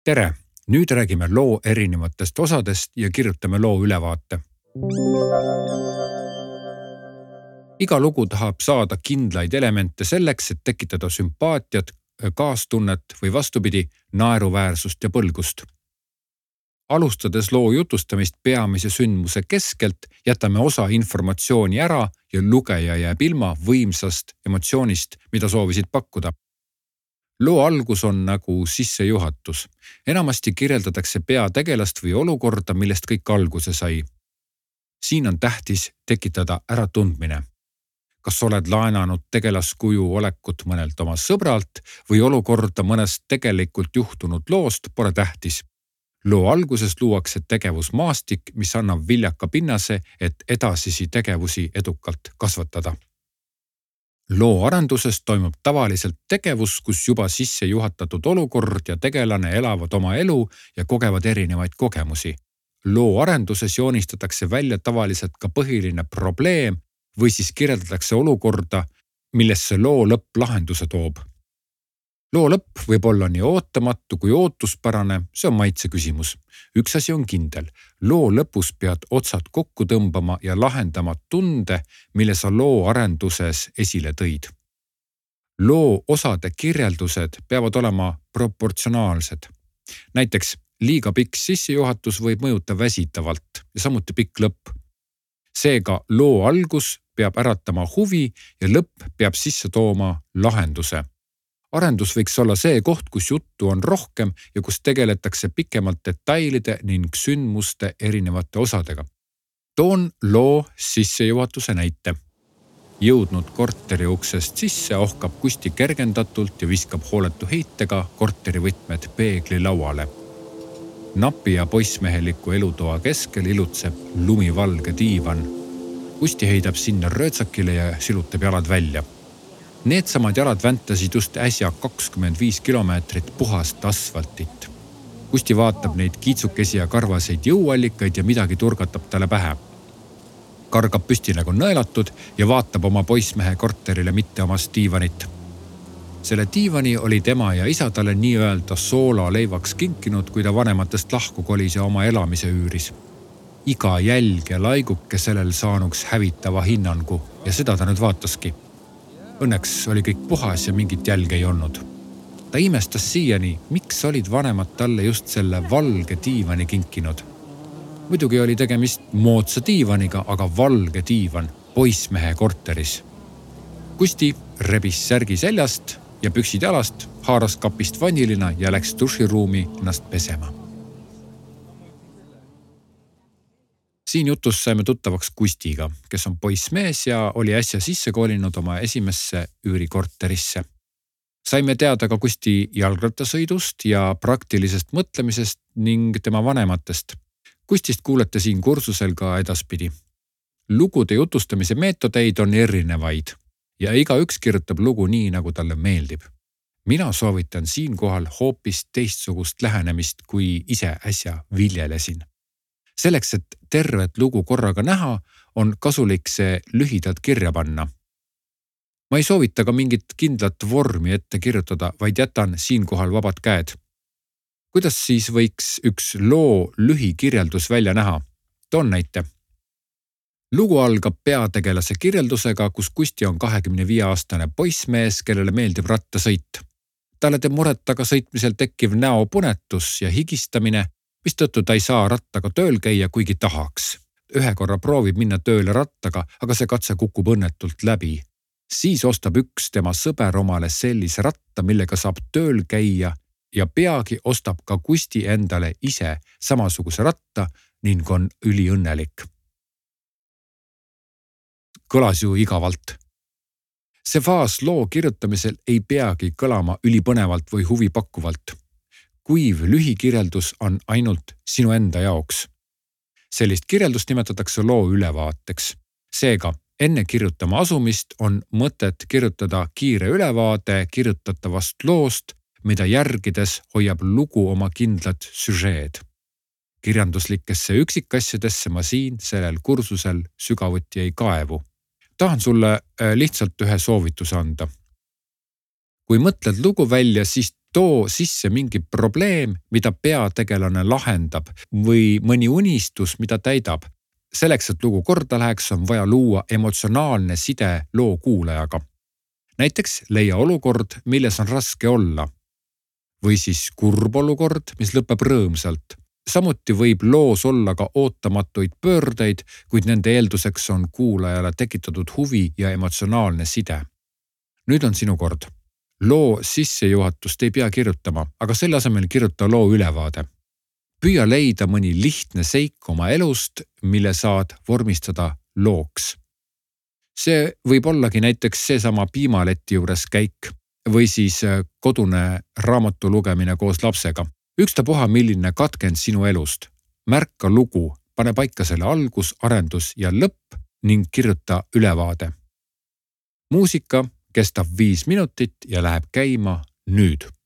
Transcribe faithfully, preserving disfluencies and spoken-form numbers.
Tere! Nüüd räägime loo erinevatest osadest ja kirjutame loo ülevaate. Iga lugu tahab saada kindlaid elemente selleks, et tekitada sümpaatiat, kaastunnet või vastupidi, naeruväärsust ja põlgust. Alustades loo jutustamist peamise sündmuse keskelt, jätame osa informatsiooni ära ja lugeja jääb ilma võimsast emotsioonist, mida soovisid pakkuda. Loo algus on nagu sissejuhatus. Enamasti kirjeldatakse peategelast või olukorda, millest kõik alguse sai. Siin on tähtis tekitada äratundmine. Kas oled laenanud tegelaskuju olekut mõnelt oma sõbralt või olukorda mõnest tegelikult juhtunud loost, pole tähtis. Loo alguses luuakse tegevusmaastik, mis annab viljaka pinnase, et edasisi tegevusi edukalt kasvatada. Loo arenduses toimub tavaliselt tegevus, kus juba sisse juhatatud olukord ja tegelane elavad oma elu ja kogevad erinevaid kogemusi. Loo arenduses joonistatakse välja tavaliselt ka põhiline probleem või siis kirjeldatakse olukorda, millesse loo lõpp lahenduse toob. Loo lõpp võib olla nii ootamatu kui ootuspärane, see on maitse küsimus. Üks asi on kindel. Loo lõpus pead otsad kokku tõmbama ja lahendama tunde, mille sa loo arenduses esile tõid. Loo osade kirjeldused peavad olema proportsionaalsed. Näiteks liiga pikk sissejuhatus võib mõjuta väsitavalt ja samuti pikk lõpp. Seega loo algus peab äratama huvi ja lõpp peab sisse tooma lahenduse. Arendus võiks olla see koht, kus juttu on rohkem ja kus tegeletakse pikemalt detailide ning sündmuste erinevate osadega. Toon loo sissejuhatuse näite. Jõudnud korteri uksest sisse ohkab Kusti kergendatult ja viskab hooletu heitega korteri võtmed peegli lauale. Napi ja poissmeheliku elutoa keskel ilutseb lumivalge diivan. Kusti heidab sinna röötsakile ja silutab jalad välja. Needsamad jalad väntasid just äsja kakskümmend viis kilomeetrit puhast asfaltit. Kusti vaatab neid kiitsukesi ja karvaseid jõuallikaid ja midagi turgatab talle pähe. Kargab püsti nagu nõelatud ja vaatab oma poissmehe korterile mitte omast diivanit. Selle diivani oli tema ja isa talle nii-öelda soola leivaks kinkinud, kui ta vanematest lahku kolis ja oma elamise üüris. Iga jälg ja laiguke sellel saanuks hävitava hinnangu ja seda ta nüüd vaataski. Õnneks oli kõik puhas ja mingit jälge ei olnud. Ta imestas siiani, miks olid vanemad talle just selle valge diivani kinkinud. Muidugi oli tegemist moodsa diivaniga, aga valge diivan poissmehe korteris. Kusti rebis särgi seljast ja püksid jalast, haaras kapist vanilina ja läks duširuumi ennast pesema. Siin jutus saime tuttavaks Kustiga, kes on poissmees ja oli äsja sisse koolinud oma esimesse üürikorterisse. Saime teada ka Kusti jalgrattasõidust ja praktilisest mõtlemisest ning tema vanematest. Kustist kuulete siin kursusel ka edaspidi. Lugude jutustamise meetodeid on erinevaid ja iga üks kirjutab lugu nii, nagu talle meeldib. Mina soovitan siinkohal hoopis teistsugust lähenemist, kui ise äsja viljelesin. Selleks, et tervet lugu korraga näha, on kasulik see lühidalt kirja panna. Ma ei soovita ka mingit kindlat vormi ette kirjutada, vaid jätan siinkohal vabad käed. Kuidas siis võiks üks loo lühikirjeldus välja näha? Toon näite. Lugu algab peategelase kirjeldusega, kus Kusti on kahekümne viie aastane poissmees, kellele meeldib rattasõit. Talle teeb muret taga sõitmisel tekkiv näopunetus ja higistamine, mistõttu ta ei saa rattaga tööl käia, kuigi tahaks. Ühe korra proovib minna tööle rattaga, aga see katse kukub õnnetult läbi. Siis ostab üks tema sõber omale sellise ratta, millega saab tööl käia ja peagi ostab ka Kusti endale ise samasuguse ratta ning on üliõnnelik. Kõlas ju igavalt. See faas loo kirjutamisel ei peagi kõlama ülipõnevalt või huvipakkuvalt. Kuiv lühikirjeldus on ainult sinu enda jaoks. Sellist kirjeldust nimetatakse loo ülevaateks. Seega, enne kirjutama asumist on mõtet kirjutada kiire ülevaade kirjutatavast loost, mida järgides hoiab lugu oma kindlat süžeed. Kirjanduslikesse üksikasjadesse ma siin sellel kursusel sügavuti ei kaevu. Tahan sulle lihtsalt ühe soovituse anda. Kui mõtled lugu välja, siis too sisse mingi probleem, mida peategelane lahendab või mõni unistus, mida täidab. Selleks, et lugu korda läheks, on vaja luua emotsionaalne side loo kuulajaga. Näiteks leia olukord, milles on raske olla. Või siis kurb olukord, mis lõpeb rõõmsalt. Samuti võib loos olla ka ootamatuid pöördeid, kuid nende eelduseks on kuulajale tekitatud huvi ja emotsionaalne side. Nüüd on sinu kord. Loo sissejuhatust ei pea kirjutama, aga selle asemel kirjuta loo ülevaade. Püüa leida mõni lihtne seik oma elust, mille saad vormistada looks. See võib ollagi näiteks seesama piimaleti juures käik või siis kodune raamatu lugemine koos lapsega. Ükstapuha, milline katkend sinu elust. Märka lugu, pane paika selle algus, arendus ja lõpp ning kirjuta ülevaade. Muusika kestab viis minutit ja läheb käima nüüd.